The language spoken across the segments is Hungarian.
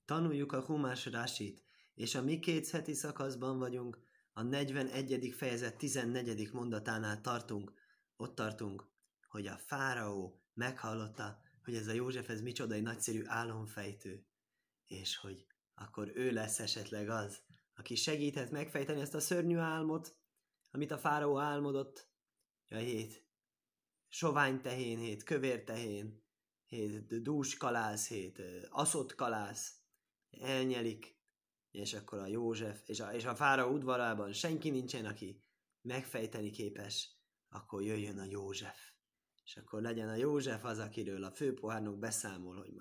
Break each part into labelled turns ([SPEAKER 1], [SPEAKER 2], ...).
[SPEAKER 1] Tanuljuk a Humás Rásit, és a mi 2 heti szakaszban vagyunk, a 41. fejezet 14. mondatánál tartunk. Ott tartunk, hogy a fáraó meghallotta, hogy ez a József, ez micsoda egy nagyszerű álomfejtő, és hogy akkor ő lesz esetleg az, aki segíthet megfejteni ezt a szörnyű álmot, amit a fáraó álmodott. A 7 sovány tehén, 7 kövér tehén, 7 dús kalász, 7 aszott kalász elnyelik, és akkor a József, és a fáraó udvarában senki nincsen, aki megfejteni képes, akkor jöjjön a József. És akkor legyen a József az, akiről a főpohárnok beszámol, hogy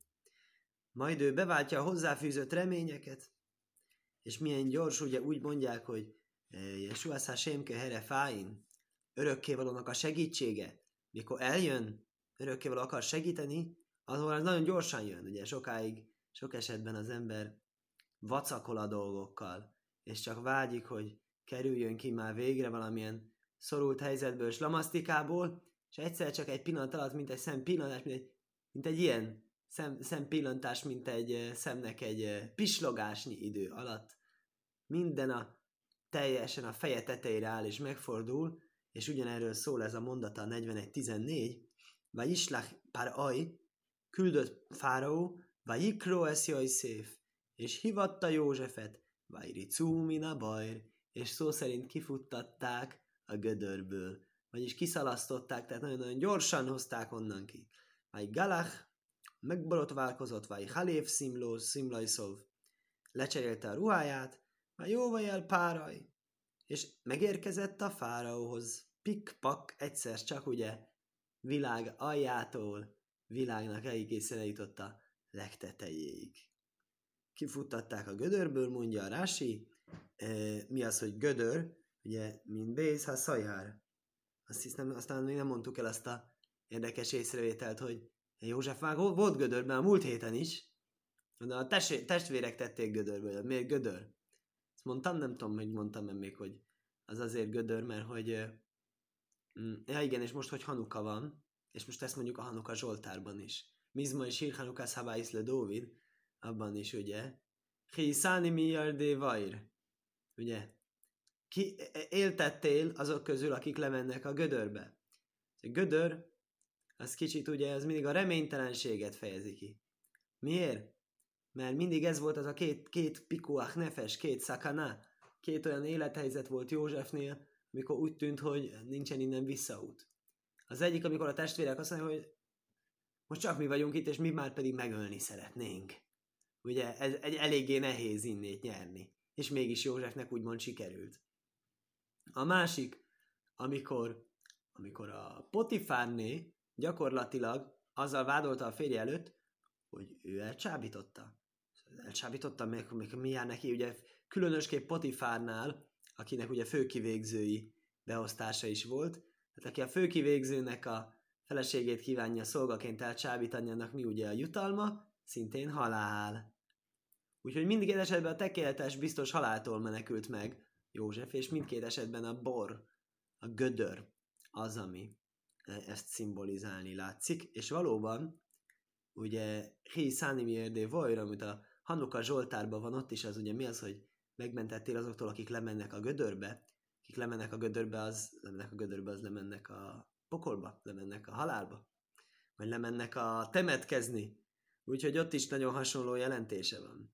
[SPEAKER 1] majd ő beváltja a hozzáfűzött reményeket, és milyen gyors, ugye úgy mondják, hogy Jesúaszá Sémke Here Fáin, örökkévalónak a segítsége, mikor eljön, örökkévaló akar segíteni, azonban az nagyon gyorsan jön, ugye sok esetben az ember vacakol a dolgokkal, és csak vágyik, hogy kerüljön ki már végre valamilyen szorult helyzetből, slamasztikából, és egyszer csak egy pillanat alatt, mint egy szempillantás, mint egy ilyen szempillantás, mint egy szemnek egy pislogásnyi idő alatt, minden teljesen a feje tetejére áll és megfordul, és ugyanerről szól ez a mondata a 41.14, vagy islach Pár-aj, küldött fáraó, vagy ikró esz Jajszéf, és hivatta Józsefet, vagy ricú mina bajr, és szó szerint kifuttatták a gödörből, vagyis kiszalasztották, tehát nagyon-nagyon gyorsan hozták onnan ki. Vagy Galach megborotválkozott, vagy Halév Szimlajszov, lecserélte a ruháját, vagy Jóvajel Páraj, és megérkezett a fáraóhoz. Pik-pak, egyszer csak ugye világ aljától világnak egészen eljutott a legtetejéig. Kifuttatták a gödörből, mondja a Rási. Mi az, hogy gödör? Ugye, mint Bész, ha szajhár. Azt hiszem, aztán még nem mondtuk el azt a érdekes észrevételt, hogy József már volt gödörben a múlt héten is, de a testvérek tették gödörből. Miért gödör? Ezt mondtam, nem tudom, hogy mondtam-e még, hogy az azért gödör, mert hogy ja igen, és most, hogy Hanuka van, és most ezt mondjuk a Hanuka Zsoltárban is. Mizma és Hír Hanukász Habáisz le Dóvid, abban is, ugye, Hiszáni miardé vajr, ugye, ki éltettél azok közül, akik lemennek a gödörbe. A gödör, az kicsit ugye, az mindig a reménytelenséget fejezi ki. Miért? Mert mindig ez volt az a két pikuach nefes, 2 szakana, 2 olyan élethelyzet volt Józsefnél, amikor úgy tűnt, hogy nincsen innen visszaút. Az egyik, amikor a testvérek azt mondják, hogy most csak mi vagyunk itt, és mi már pedig megölni szeretnénk. Ugye ez egy eléggé nehéz innét nyerni. És mégis Józsefnek úgymond sikerült. A másik, amikor a Potifárné gyakorlatilag azzal vádolta a férje előtt, hogy ő elcsábította. Elcsábította, meg mi jár neki, ugye különösképp Potifárnál, akinek ugye főkivégzői beosztása is volt, tehát aki a főkivégzőnek a feleségét kívánja szolgaként elcsábítani, annak mi ugye a jutalma? Szintén halál. Úgyhogy mindkét esetben a tökéletes biztos haláltól menekült meg József, és mindkét esetben a bor, a gödör az, ami ezt szimbolizálni látszik, és valóban ugye Hi Szánimi Érdé Vajra, amit a Hanuka Zsoltárban van, ott is az ugye mi az, hogy megmentettél azoktól, akik lemennek a gödörbe, akik lemennek a gödörbe, az lemennek a pokolba, lemennek a halálba, vagy lemennek a temetkezni. Úgyhogy ott is nagyon hasonló jelentése van.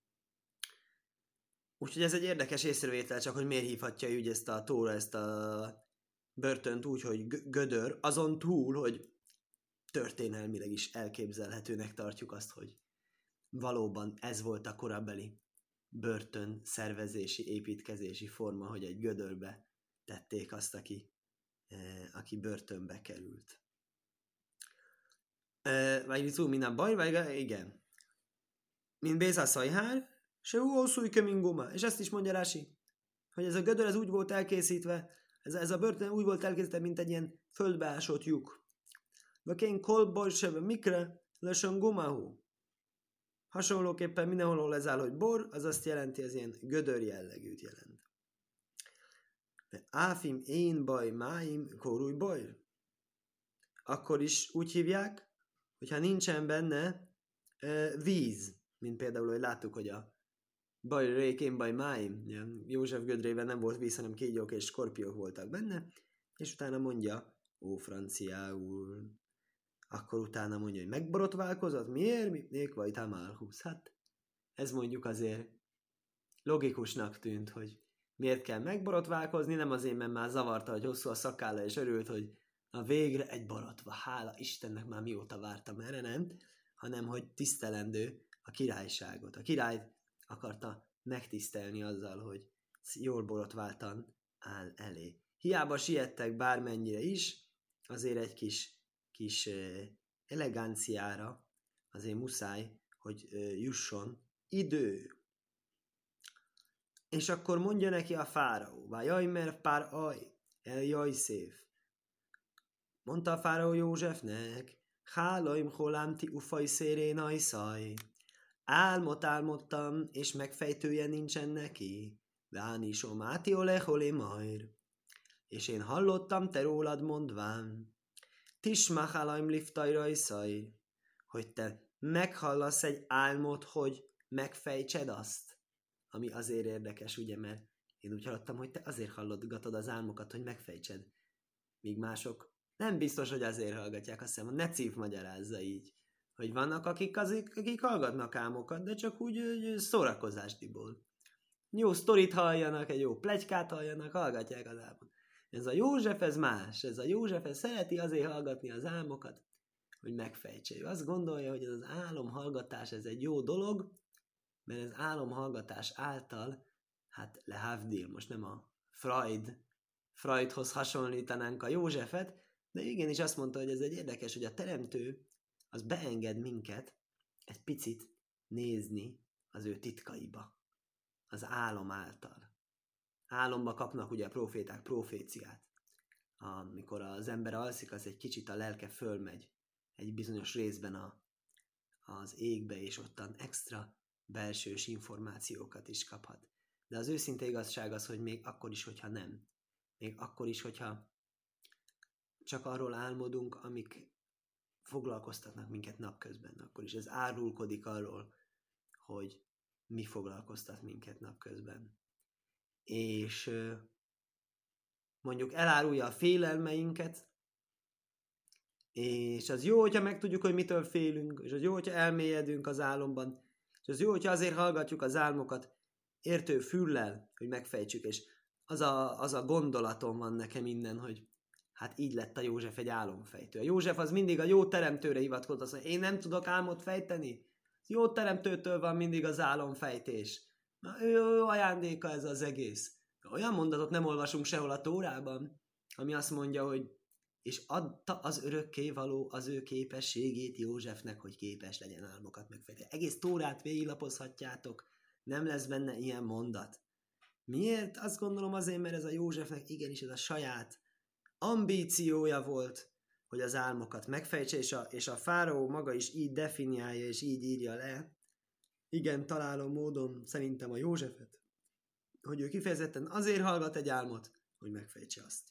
[SPEAKER 1] Úgyhogy ez egy érdekes észrevétel, csak hogy miért hívhatja úgy ezt a Tóra, ezt a börtönt úgy, hogy gödör, azon túl, hogy történelmileg is elképzelhetőnek tartjuk azt, hogy valóban ez volt a korabeli börtön szervezési, építkezési forma, hogy egy gödörbe tették azt, aki börtönbe került. Vagy szó, mint a baj, vagy igen. Mint Béza Szajhár, se újszújke minguma. És ezt is mondja Rási, hogy ez a gödör ez úgy volt elkészítve, ez a börtön úgy volt elkészítve, mint egy ilyen földbeásott lyuk. Vakén kolboj sebe mikre, lösön gumahu. Hasonlóképpen mindenhol ez áll, hogy bor, az azt jelenti, az ilyen gödör jellegűt jelent. De áfim én baj máim kórúj baj. Akkor is úgy hívják, hogyha nincsen benne víz. mint például, hogy láttuk, hogy a baj rékén, baj máim, József gödrében nem volt víz, hanem kígyók és skorpiók voltak benne, és utána mondja, ó franciául, akkor utána mondja, hogy megborotválkozott, miért? Nék vagy tamálhusz. Hát ez mondjuk azért logikusnak tűnt, hogy miért kell megborotválkozni, nem azért, mert már zavarta, hogy hosszú a szakálla, és örült, hogy a végre egy borotva, hála Istennek, már mióta vártam erre, nem, hanem hogy tisztelendő a királyságot. A királyt akarta megtisztelni azzal, hogy jól borotváltan áll elé. Hiába siettek bármennyire is, azért egy kis eleganciára azért muszáj, hogy jusson idő. És akkor mondja neki a fáraó, vájaj, mert pár aj, eljaj szép. Mondta a fáraó Józsefnek, hálaim holámti ufaj szérén ajszaj. Álmot álmodtam, és megfejtője nincsen neki. Váni somáti oleholi majr. És én hallottam te rólad mondván. Tisma hálaim liftaj rajszaj. Hogy te meghallasz egy álmot, hogy megfejtsed azt. Ami azért érdekes, ugye, mert én úgy hallottam, hogy te azért hallgatod az álmokat, hogy megfejtsed. Míg mások nem biztos, hogy azért hallgatják, azt hiszem, ne Cíf magyarázza így. Hogy vannak, akik hallgatnak álmokat, de csak úgy szórakozásdiból. Jó sztorit halljanak, egy jó pletykát halljanak, hallgatják az álmot. Ez a József, ez más. Ez a József, ez szereti azért hallgatni az álmokat, hogy megfejtse. Ő azt gondolja, hogy ez az álomhallgatás, ez egy jó dolog, mert az álomhallgatás által, hát lehavdil, most nem a Freudhoz hasonlítanánk a Józsefet, de igenis azt mondta, hogy ez egy érdekes, hogy a teremtő az beenged minket egy picit nézni az ő titkaiba, az álom által. Álomba kapnak ugye a proféták proféciát. Amikor az ember alszik, az egy kicsit a lelke fölmegy egy bizonyos részben az égbe, és ottan extra belsős információkat is kaphat. De az őszinte igazság az, hogy még akkor is, hogyha nem. Még akkor is, hogyha csak arról álmodunk, amik foglalkoztatnak minket napközben. Akkor is ez árulkodik arról, hogy mi foglalkoztat minket napközben. És mondjuk elárulja a félelmeinket, és az jó, hogyha megtudjuk, hogy mitől félünk, és az jó, hogyha elmélyedünk az álomban, és az jó, hogyha azért hallgatjuk az álmokat értő füllel, hogy megfejtsük, és az a gondolatom van nekem innen, hogy hát így lett a József egy álomfejtő. A József az mindig a jó teremtőre hivatkozott, azt mondja, én nem tudok álmot fejteni. Jó teremtőtől van mindig az álomfejtés. Na, ő ajándéka ez az egész. Olyan mondatot nem olvasunk sehol a Tórában, ami azt mondja, hogy és adta az örökkévaló az ő képességét Józsefnek, hogy képes legyen álmokat megfejteni. Egész Tórát végiglapozhatjátok, nem lesz benne ilyen mondat. Miért? Azt gondolom azért, mert ez a Józsefnek igenis ez a saját ambíciója volt, hogy az álmokat megfejtse, és a fáraó maga is így definiálja, és így írja le. Igen, találó módon szerintem a Józsefet, hogy ő kifejezetten azért hallgat egy álmot, hogy megfejtse azt.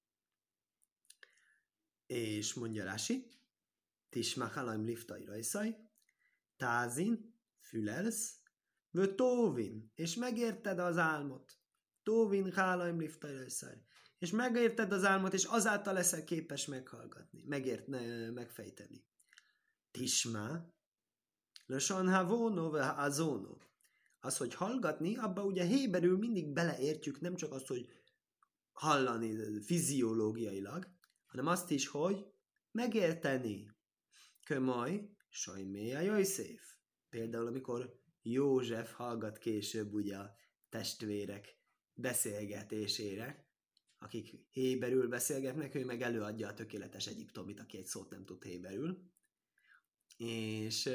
[SPEAKER 1] És mondja Rási, Tisma halaim liftai rajszaj, tázin, fülelsz, vő tóvin, és megérted az álmot. Tóvin halaim liftai rajszaj. És megérted az álmot, és azáltal leszel képes meghallgatni, megfejteni. Tisma, lösan havóno ve azóno. Az, hogy hallgatni, abba ugye héberül mindig beleértjük, nem csak azt, hogy hallani fiziológiailag, hanem azt is, hogy megérteni. Kömaj, sajméja József. Például, amikor József hallgat később ugye a testvérek beszélgetésére, akik héberül beszélgetnek, ő meg előadja a tökéletes egyiptomit, aki egy szót nem tud héberül. És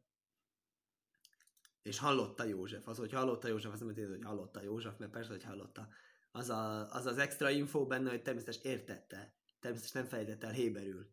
[SPEAKER 1] hallotta József. Az, hogy hallotta József, azt nem jelenti, hogy hallotta József, mert persze, hogy hallotta. Az extra info benne, hogy természetesen értette. Természetesen nem fejtett el héberül.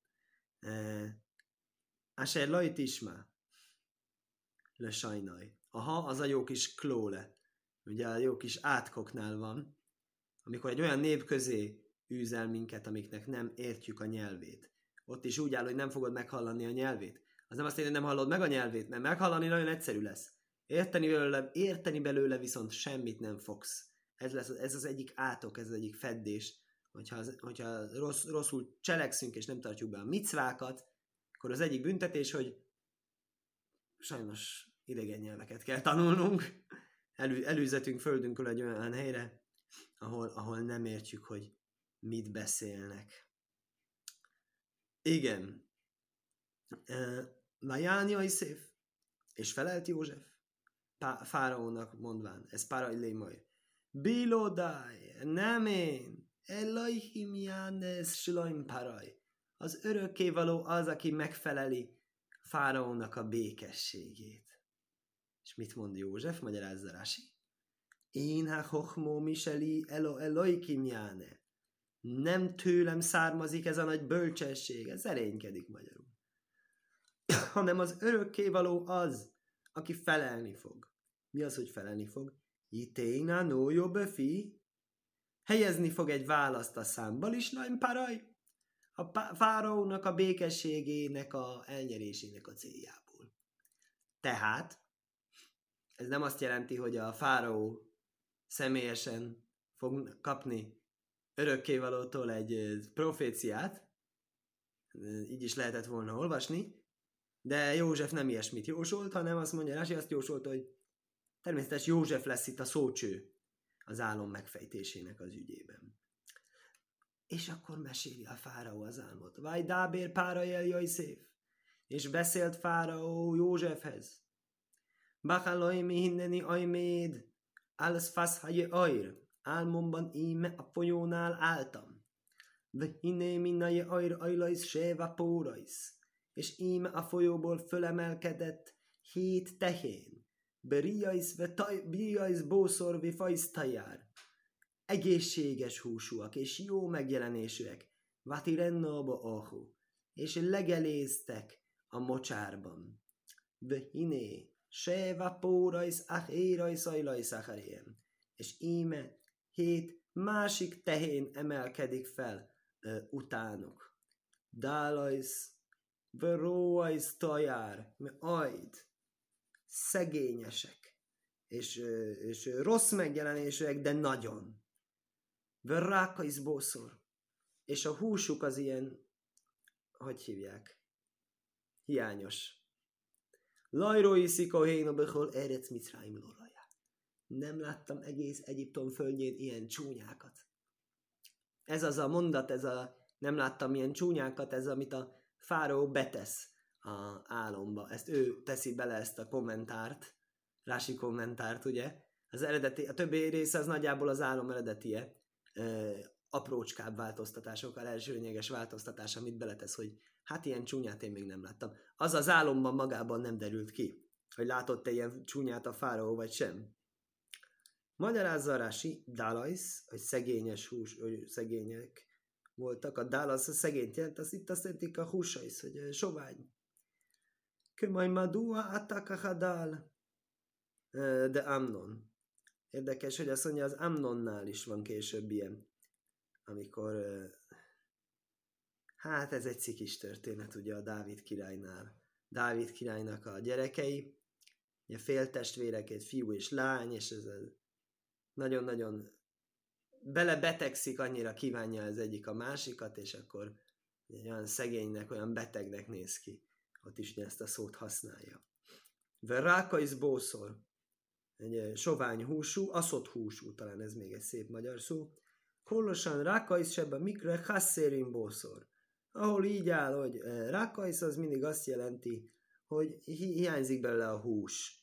[SPEAKER 1] Asher lajt isma. Le sajnaj. Aha, az a jó kis klóle. Ugye a jó kis átkoknál van, amikor egy olyan nép közé űz el minket, amiknek nem értjük a nyelvét. Ott is úgy áll, hogy nem fogod meghallani a nyelvét. Az nem azt jelenti, hogy nem hallod meg a nyelvét, mert meghallani nagyon egyszerű lesz. Érteni belőle viszont semmit nem fogsz. Ez az egyik átok, ez az egyik feddés. Hogyha rosszul cselekszünk és nem tartjuk be a micvákat, akkor az egyik büntetés, hogy sajnos idegen nyelveket kell tanulnunk. Előzetünk földünkön egy olyan helyre, ahol nem értjük, hogy mit beszélnek. Igen. Vaján Jajszéf, és felelt József, fáraónak mondván, ez Parai majd. Bilodai, nem én, Elohim Jánes Shloim Parai. Az örökkévaló az, aki megfeleli fáraónak a békességét. És mit mond József? Magyarázza Rási. Én ha hochmó miseli Elohim Jáne. Nem tőlem származik ez a nagy bölcsesség, ez erénykedik magyarul. Hanem az örökkévaló az, aki felelni fog. Mi az, hogy felelni fog? Iténa no jobbefi. Helyezni fog egy választ a számba is, Laim Paraj. A fáraónak a békességének a elnyerésének a céljából. Tehát, ez nem azt jelenti, hogy a fáraó személyesen fog kapni örökkévalótól egy proféciát, így is lehetett volna olvasni, de József nem ilyesmit jósolt, hanem azt mondja, Rási azt jósolta, hogy természetesen József lesz itt a szócső az álom megfejtésének az ügyében. És akkor meséli a fáraó az álmot. Vaj dábér Párai el Jajszéf. És beszélt fáraó Józsefhez. Bachalai mi hinneni ajméd, álsz faszhaje ajr. Álmomban íme a folyónál álltam. De hinné minnaje ajr ajlajsz séva pórajsz. És íme a folyóból fölemelkedett 7 tehén. Biriajsz bószorvi fajsztajár. Egészséges húsúak és jó megjelenésűek. Vati rennába ahu. És legeléztek a mocsárban. Vehiné, séva pórajsz érajsz ajlajsz acharém. És íme 7 másik tehén emelkedik fel utánuk. Dálajsz, veróajsz tajár, ajd, szegényesek, és rossz megjelenésűek, de nagyon. Verrákajsz bószor, és a húsuk az ilyen, hogy hívják, hiányos. Lajrói szikohéna behol erec Micráim lorajá. Nem láttam egész Egyiptom földjén ilyen csúnyákat. Ez az a mondat, nem láttam ilyen csúnyákat, ez amit a fáraó betesz a álomba. Ezt ő teszi bele, ezt a kommentárt, Rási kommentárt, ugye? Az eredeti, a többi része az nagyjából az álom eredetie. Aprócskább változtatásokkal, elsőlényeges változtatás, amit beletesz, hogy hát ilyen csúnyát én még nem láttam. Az az álomban magában nem derült ki, hogy látott-e ilyen csúnyát a fáraó, vagy sem. Magyarázza Rási, Dálajsz, hogy szegényes hús, hogy szegények voltak. A Dálasz a szegényt jelent, itt azt jelentik a húsaisz, hogy sovány. Kömaj madua atakahadál, de Amnon. Érdekes, hogy azt mondja, az Amnonnál is van később ilyen, amikor, hát ez egy cikis történet ugye a Dávid királynál. Dávid királynak a gyerekei, ugye féltestvérek, egy fiú és lány, és ez nagyon-nagyon belebetegszik, annyira kívánja az egyik a másikat, és akkor olyan szegénynek, olyan betegnek néz ki. Ott is ezt a szót használja. Verrákajsz bószor, egy sovány húsú, aszott húsú, talán ez még egy szép magyar szó. Kollosan rákajsz sebe mikre hasszérin bószor. Ahol így áll, hogy rákajsz, az mindig azt jelenti, hogy hiányzik belőle a hús.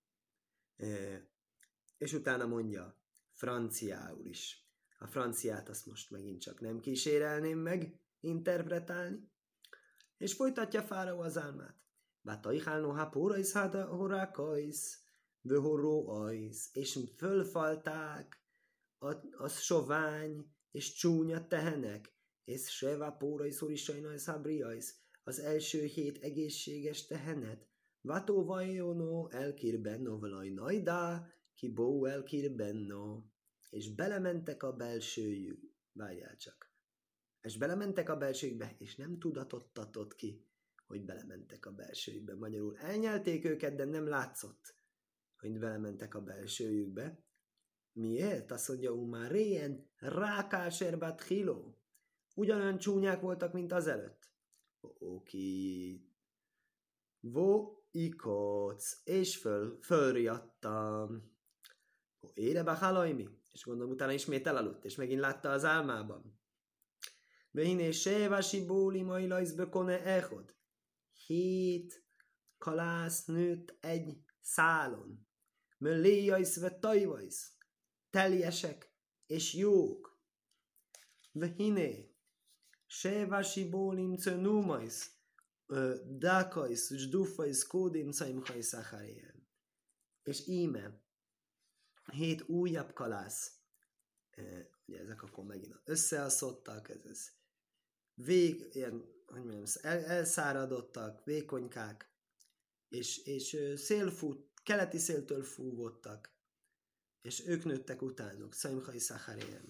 [SPEAKER 1] És utána mondja franciául is. A franciát azt most megint csak nem kísérelném meg interpretálni. És folytatja fáraó az álmát. Bátajhálno hapórajsz háda horákajsz, vöhoróajsz, és fölfalták a sovány és csúnya tehenek, és sevapórajsz horisajnajsz hábriajsz, az első 7 egészséges tehenet. Vató vajonó elkirbenno valaj najdá, ki bó elkirbenno. És belementek a belsőjük, várjál csak. És belementek a belsőjükbe, és nem tudatott ki, hogy belementek a belsőjükbe. Magyarul elnyelték őket, de nem látszott, hogy belementek a belsőjükbe. Miért? Azt mondja, már réjen rákáserbat hilo. Ugyanolyan csúnyák voltak, mint azelőtt. Oké. Vo ikoc, és fölriadtam. Érebe halajmi. És gondolom, utána ismét elaludt, és megint látta az álmában. Vehiné sévási bóli majlajzbe kone echod. 7 kalász nőtt egy szálon. Möléjajsz ve tajvajsz. Teljesek és jók. Vehiné sévási bólim cönúmajsz. Dákajsz, zsdufajsz, kódim caimhajsz acharén. És íme 7 újabb kalász. Ugye ezek akkor megint összeaszottak, ez ilyen, hogy mondjam, elszáradottak, vékonykák, és keleti széltől fúvottak, és ők nőttek utánuk. Caimhaj Szacharén.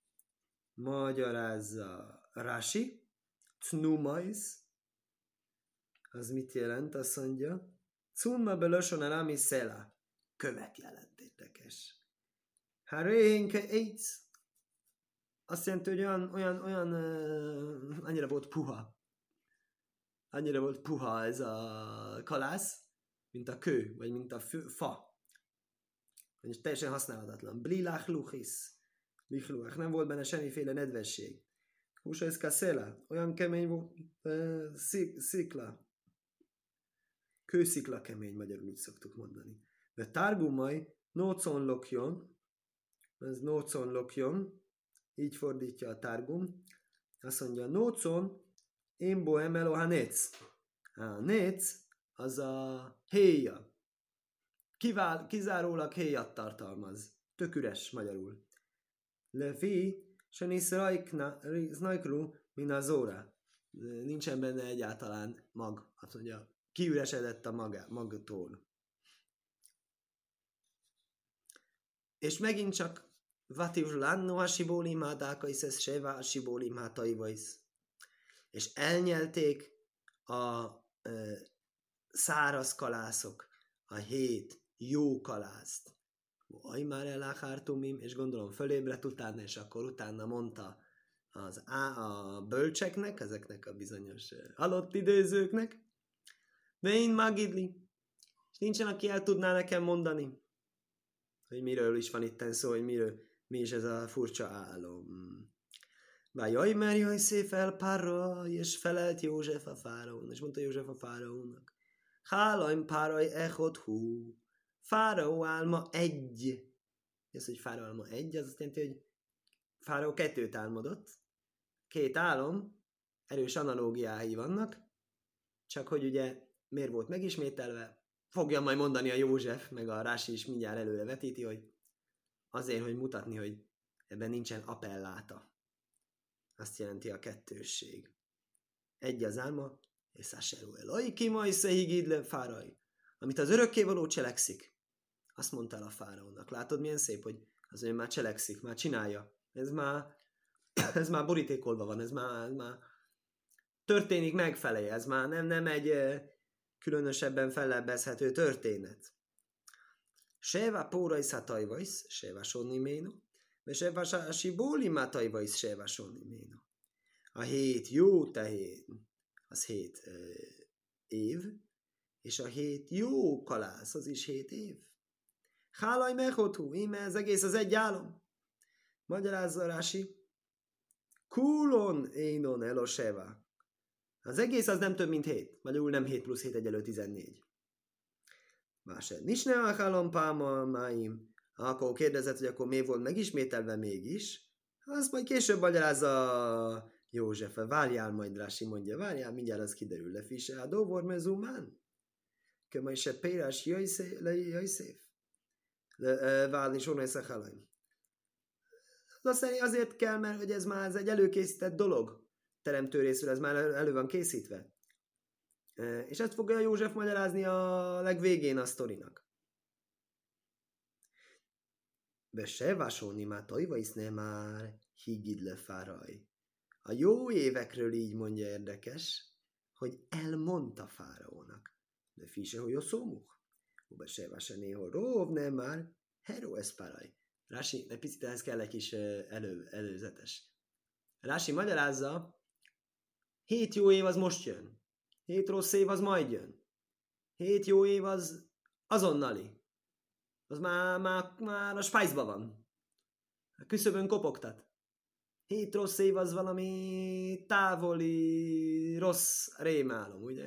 [SPEAKER 1] Magyarázza Rashi, Cnumajsz, az mit jelent? Azt mondja, Cunma belöson elami szela. Követ jelent, érdekes. Harénke eitz. Azt jelenti, hogy olyan annyira volt puha. Annyira volt puha ez a kalász, mint a kő, vagy mint a fa. És teljesen használhatatlan. Blilach luchis. Lichluach. Nem volt benne semmiféle nedvesség. Húsa ez kaszela. Olyan kemény volt. Szikla. Kőszikla kemény, magyarul úgy szoktuk mondani. De tárgumaj nócon lokjon. Ez nócon lokjon. Így fordítja a tárgum. Azt mondja, nócon émbo emelo ha néc. A néc az a héja. Kizárólag héjat tartalmaz. Tök üres magyarul. Lefi se nisz rajkru min a zóra. Nincsen benne egyáltalán mag. Azt mondja, kiüresedett a magtól. És megint csak Vativlanno a sibólim hádákaisz, ez seva a sibólim hátaivasz. És elnyelték a száraz kalászok, a 7 jó kalászt. Aj már eláhártumim, és gondolom fölébredt utána, és akkor utána mondta a bölcseknek, ezeknek a bizonyos halott időzőknek, de én magidli, és nincsen, aki el tudná nekem mondani, hogy miről is van itten szó, hogy mi is ez a furcsa álom. Jaj, mert jaj, szép elpárra, és felelt József a fáraón, és mondta József a fáraónak, hálajm páraj echot hú, fáraó álma 1. Ez, hogy fáraó álma 1, az azt jelenti, hogy fáraó 2 álmodott, 2 álom, erős analógiái vannak, csak hogy ugye miért volt megismételve, fogja majd mondani a József, meg a Rási is mindjárt előre vetíti, hogy azért, hogy mutatni, hogy ebben nincsen appelláta. Azt jelenti a kettősség. 1 az álma, és Száserú Eloi, ki majd szehigid le fáraj. Amit az örökkévaló cselekszik. Azt mondta el a fáraónak. Látod, milyen szép, hogy az ő már cselekszik, már csinálja. Ez már borítékolva van, ez már történik megfelé, ez már nem egy különösebben fellebbezhető történet. Seva póraj szatajvajsz, seva sonni méno, és seva sásibóli mátajvajsz, seva sonni méno. A 7 jó tehén, az 7 év, és a 7 jó kalász, az is 7 év. Hálaj mechotú, íme ez egész az egy álom. Magyarázza Rási. Kulon énon eloseva. Az egész az nem több, mint 7. Magyarul nem 7 plusz 7 egyelő 14. Másod. Nincs ne a halompáma máim. Akkor kérdezett, hogy akkor miért volt megismételve mégis. Azt majd később magyarázza József. Várjál majd, Rási mondja. Várjál, mindjárt az kiderül. Lefise a dovor mezumán. Kömaj se pérás jöjszév. Válni sonaj szachalaim. Azért kell, mert hogy ez már egy előkészített dolog. Teremtő részről ez már elő van készítve. És ezt fogja József magyarázni a legvégén a sztorinak. Be se vásolni már tajvaisz ne már higid le fáraj. A jó évekről így mondja érdekes, hogy elmondta fáraónak. De fise, hogy a szómuk. Uba se vase néhol róv, nem már, hero eszpáraj. Rási, egy picit ehhez kell egy kis előzetes. Rási magyarázza, 7 jó év az most jön. 7 rossz év az majd jön. 7 jó év az azonnali. Az már a spájzban van. A küszöbön kopogtat. 7 rossz év az valami távoli, rossz rémálom, ugye?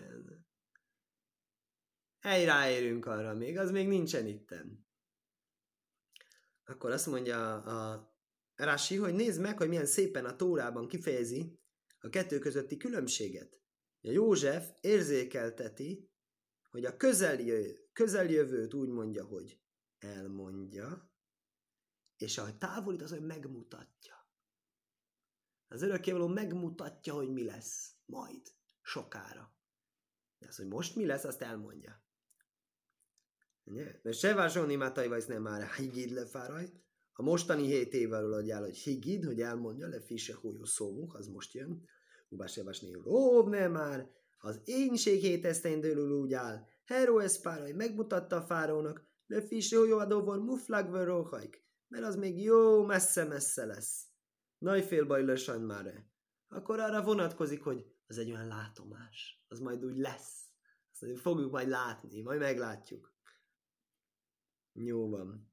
[SPEAKER 1] Ráérünk arra még, az még nincsen itten. Akkor azt mondja a Rashi, hogy nézd meg, hogy milyen szépen a Tórában kifejezi a kettő közötti különbséget. A József érzékelteti, hogy a közeljövőt úgy mondja, hogy elmondja, és a távolít az, hogy megmutatja. Az örökkévaló megmutatja, hogy mi lesz majd, sokára. De az, hogy most mi lesz, azt elmondja. Mert se vásolni mátai vagy nem már higid lefáraj. A mostani 7 évvel adjál, hogy higid, hogy elmondja, le fise hújó szómuk, az most jön. Ubás se vásni róv nem már. Az énség 7 esztendőről úgy áll. Hero eszpáraj megmutatta a fárónak, le fise hújó adóvor muflagver róhajk. Mert az még jó messze-messze lesz. Nagyfél baj lösan már. Akkor arra vonatkozik, hogy az egy olyan látomás. Az majd úgy lesz. Azt fogjuk majd látni, majd meglátjuk. Jó van.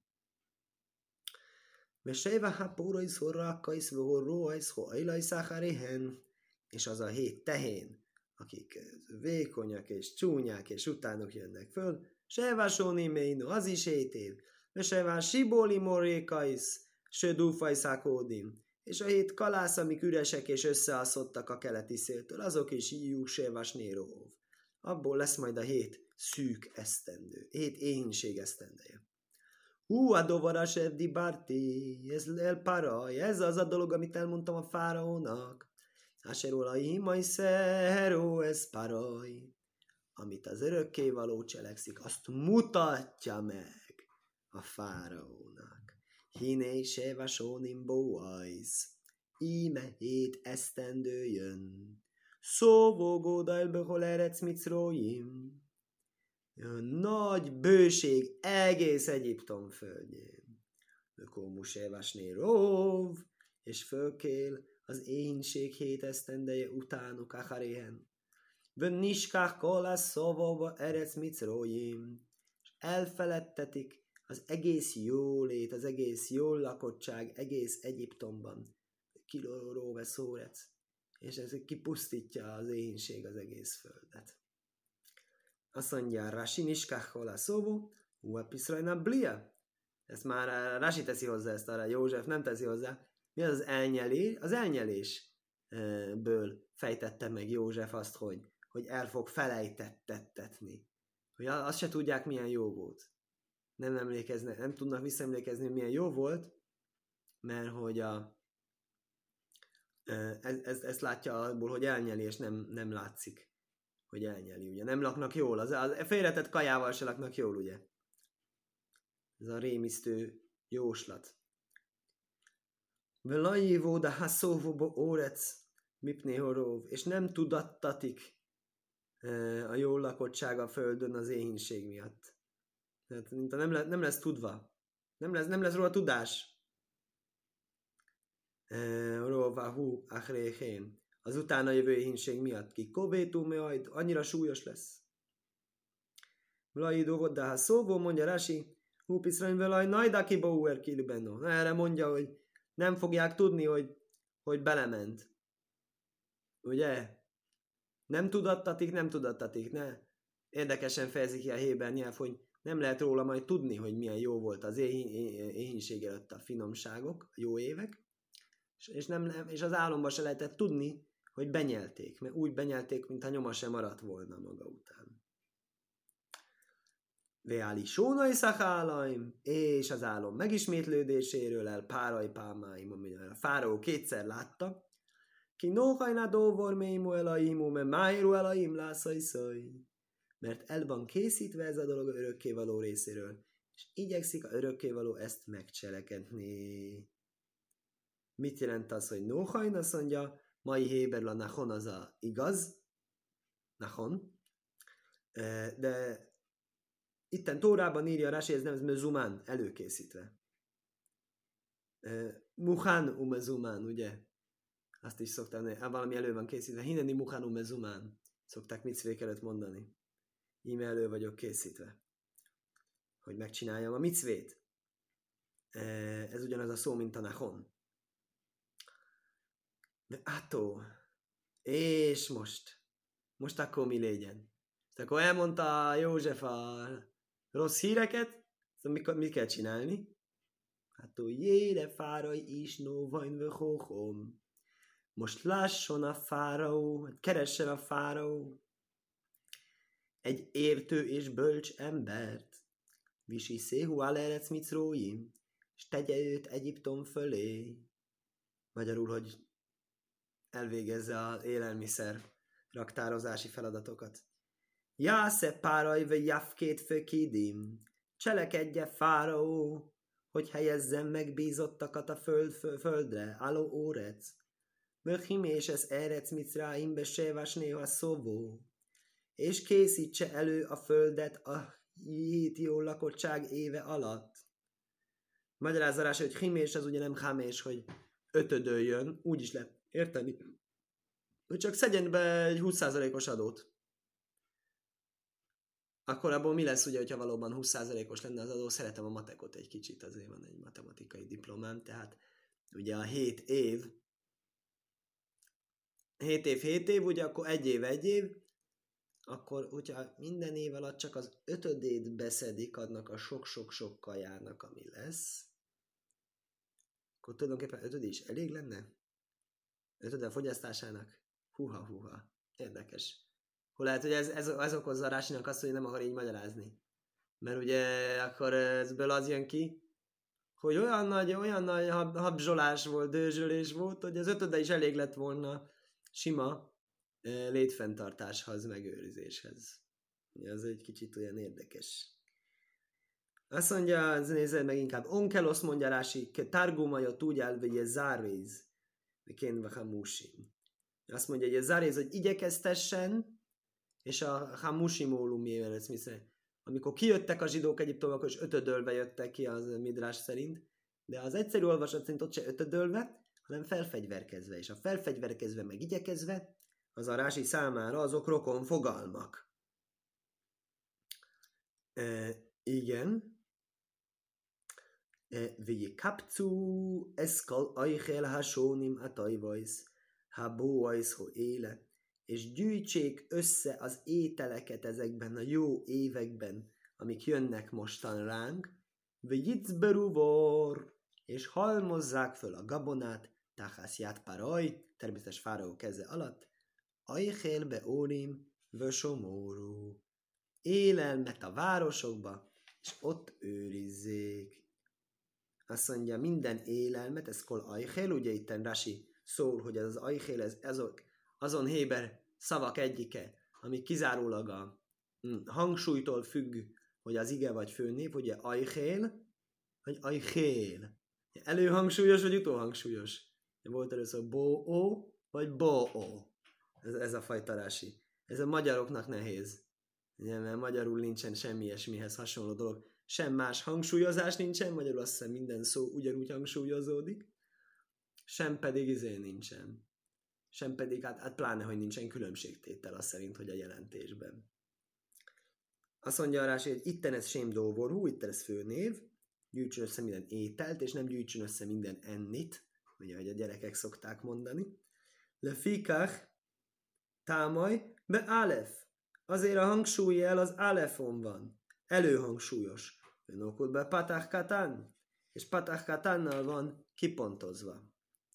[SPEAKER 1] Mesejve hápórai szorrákaisz vóróajsz hoajlaj száháréhen. És az a 7 tehén, akik vékonyak és csúnyák és utánok jönnek föl. Sejvásóni méno, az is 7 év. Mesejve sibóli morékaisz, södúfajszákódim. És a 7 kalász, amik üresek és összeaszottak a keleti széltől, azok is íjú sévás néróv. Abból lesz majd a 7 szűk esztendő, 7 éhínség esztendeje. A dovaras eddi bárti, ez elparaj, ez az a dolog, amit elmondtam a fáraónak. Áserolai majszeró, ez paraj. Amit az örökkévaló cselekszik, azt mutatja meg a fáraónak. Hiné se vasónim bóajsz, íme 7 esztendő jön. Szóvógóda elbehol erec micróim. Nagy bőség egész Egyiptom földjén. Ökómus evasné róv, és fölkél az éhínség 7 esztendeje utánuk acharéhen. Vön niskák kolász szóvóba erec micróim. És elfeledtetik az egész jólét, az egész jól lakottság, egész Egyiptomban. Kilóró veszórec. És ez kipusztítja az éhínség az egész földet. Azt mondja, Rashi niskachol a szóvó, uapiszrajna blia. Ezt már Rashi teszi hozzá, ezt arra József nem teszi hozzá. Mi az elnyelés? Az elnyelésből fejtette meg József azt, hogy el fog felejtettetni. Hogy azt se tudják, milyen jó volt. Nem tudnak visszaemlékezni, hogy milyen jó volt, mert hogy ezt látja abból, hogy elnyeli, és nem látszik, hogy elnyeli, ugye. Nem laknak jól, az félretett kajával se laknak jól, ugye. Ez a rémisztő jóslat. Velajívó, de haszóvóba órec, mipnéhoróv, és nem tudattatik a jól lakottság a földön az éhínség miatt. Tehát nem lesz tudva. Nem lesz róla tudás. Róvahú achréhén. Az utána jövő éhínség miatt ki kovétú majd annyira súlyos lesz. Vlajidó volt, de ha szóval mondja Rashi, húpiszrain velaj najdaki bauer kilbenno. Erre mondja, hogy nem fogják tudni, hogy belement. Ugye? Nem tudattatik, ne? Érdekesen fejezi ki a héber nyelv, hogy nem lehet róla majd tudni, hogy milyen jó volt az éhínség előtt a finomságok, a jó évek, és az álomban se lehetett tudni, hogy benyelték, mert úgy benyelték, mintha nyoma sem maradt volna maga után. Veáli sónai szakálaim, és az álom megismétlődéséről el páraj pámáim, amit a fáraó 2-szer látta, ki nóhajna dóvor mélymu elaimu, mert májru elaim lászajszaj. Mert el van készítve ez a dolog a örökkévaló részéről, és igyekszik a örökkévaló ezt megcselekedni. Mit jelent az, hogy nóhajn? Azt mondja, mai héberül a nachon az a igaz. Nachon. De itten Tórában írja Rashi, ez nem mezumán, előkészítve. Muhán umezumán, ugye? Azt is szoktam, valami elő van készítve. Hineni muhán umezumán. Szokták micvék előtt mondani. Íme elő vagyok készítve. Hogy megcsináljam a micvét. Ez ugyanaz a szó, mint a nachon. De átó. És most akkor mi legyen? Akkor elmondta József a rossz híreket, szóval mit kell csinálni? Hát jére fárai is nóvajn vöhóhom. Most lásson a fáraó, keressen a fáraó egy értő és bölcs embert. Visi széhu alerec micróim, és tegye őt Egyiptom fölé. Magyarul, hogy elvégezze az élelmiszer raktározási feladatokat. Jásze páraj ve javkét fökidim, cselekedje fáraó, hogy helyezzem megbízottakat a földre, álló órec. Möchim és ez erec micráimbe sévás néha szóvó, és készítse elő a földet a hítió lakottság éve alatt. Magyarázarás, hogy himés az ugye nem hámés, hogy ötödöljön, úgy is lehet érteni, hogy csak szedjen be egy 20%-os adót. Akkor abból mi lesz, ugye, hogyha valóban 20%-os lenne az adó? Szeretem a matekot egy kicsit, azért van egy matematikai diplomám, tehát ugye a 7 év, ugye akkor egy év, akkor hogyha minden év alatt csak az ötödét beszedik, adnak a sok-sok-sok kajának, ami lesz, akkor tulajdonképpen ötöd is elég lenne? Ötöd a fogyasztásának? Húha. Érdekes. Hol lehet, hogy ez okozza a Rásinak azt, hogy nem akar így magyarázni. Mert ugye akkor ebből az jön ki, hogy olyan nagy habzsolás volt, dőzsölés volt, hogy az ötöde is elég lett volna sima létfenntartáshoz, megőrzéshez. Ez egy kicsit olyan érdekes. Azt mondja, nézzel meg inkább, onkelosz mondja Rási, ke targumaja tudjál, vagy ez záréz, kénve hamusim. Azt mondja, hogy ez záréz, hogy igyekeztessen, és a hamusimólum mivel ez miszerint. Amikor kijöttek a zsidók Egyiptomból, akkor is ötödölve jöttek ki az Midrás szerint, de az egyszerű olvasat szerint ott se ötödölve, hanem felfegyverkezve, és a felfegyverkezve meg igyekezve, az a Rási számára azok rokon fogalmak. Igen. Vigi kapcu eszkal ajhel hasónim atajvajsz, habóajsz ho éle, és gyűjtsék össze az ételeket ezekben a jó években, amik jönnek mostan ránk, vegyicberuvor, és halmozzák föl a gabonát, táhászját paraj, természetes fáraó keze alatt, ajhélbe órim, vösomórú, élelmet a városokba, és ott őrizzék. Azt mondja, minden élelmet, ez kol ajhél, ugye itten Rashi szól, hogy ez az ajhél, ez azon héber szavak egyike, ami kizárólag a hangsúlytól függ, hogy az ige vagy főnév, ugye ajhél, vagy ajhél. Előhangsúlyos, vagy utóhangsúlyos. Volt először bó-ó, vagy bó-ó. Ez a fajta Rashi. Ez a magyaroknak nehéz. Ugye, mert magyarul nincsen semmi ilyesmihez hasonló dolog. Sem más hangsúlyozás nincsen, magyarul azt hiszem minden szó ugyanúgy hangsúlyozódik, sem pedig nincsen. Sem pedig, hát pláne, hogy nincsen különbségtétel az szerint, hogy a jelentésben. Azt mondja a Rási, hogy itten ez sém dóvorhú, itten ez főnév, gyűjtsön össze minden ételt, és nem gyűjtsön össze minden ennit, ugye, hogy a gyerekek szokták mondani. Le fikach támaj be álef. Azért a hangsúlyjel az álefon van. Előhangsúlyos. Önokod be patach katán, és patach katánnal van kipontozva.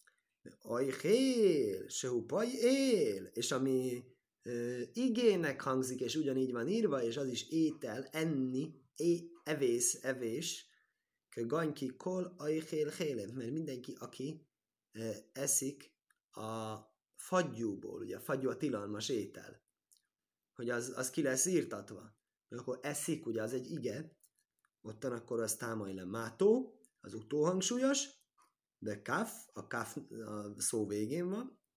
[SPEAKER 1] Ajhél, sehupaj él, és ami igének hangzik, és ugyanígy van írva, és az is étel, enni, evés, ganyki kol ajhél hélev, mert mindenki, aki eszik a fagyúból, ugye a fagyú a tilalmas étel, hogy az ki lesz írtatva. Akkor eszik, ugye az egy ige, ottan akkor az támaj le mátó, az utóhangsúlyos, de kaf, a kaf a szó végén van,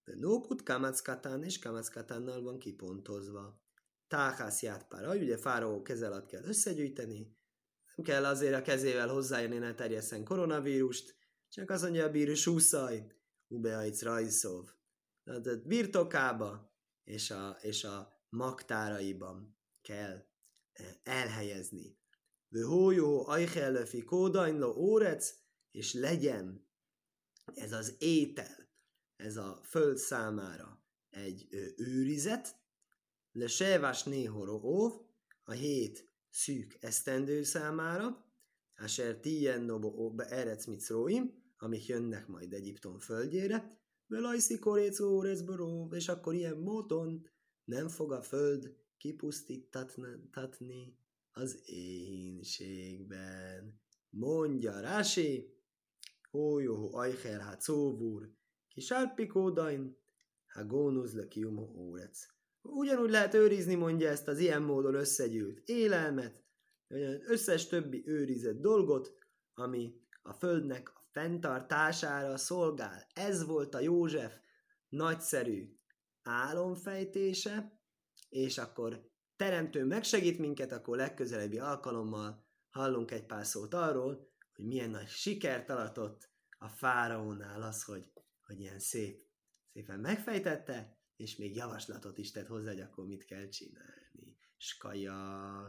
[SPEAKER 1] De nókut kamackatán és kamackatánnal van kipontozva. Táhászját pára, ugye fáraó keze alatt kell összegyűjteni, nem kell azért a kezével hozzájönni, ne terjesszen koronavírust, csak azt mondja a bíró, súszaj, ubeajc rajszov. Tehát birtokába és a magtáraiban kell elhelyezni. Vőhójó, ajhellöfi, kódajnló, órec, és legyen ez az étel, ez a föld számára egy őrizet, le sevás néhoró óv, a 7 szűk esztendő számára, asher tien nobo be erec micróim, amik jönnek majd Egyiptom földjére, velajszi koréc órezboró, és akkor ilyen módon nem fog a föld kipusztítatni az éhínségben. Mondja Rási, hójóhó ajher hát szóvúr, kisárpikódain, ha gónusz le kiumó órec. Ugyanúgy lehet őrizni, mondja, ezt az ilyen módon összegyűlt élelmet, összes többi őrizett dolgot, ami a földnek a fenntartására szolgál. Ez volt a József nagyszerű álomfejtése, és akkor teremtő megsegít minket, akkor legközelebbi alkalommal hallunk egy pár szót arról, hogy milyen nagy sikert aratott a fáraónál az, hogy ilyen szépen megfejtette, és még javaslatot is tett hozzá, hogy akkor mit kell csinálni. Skaja!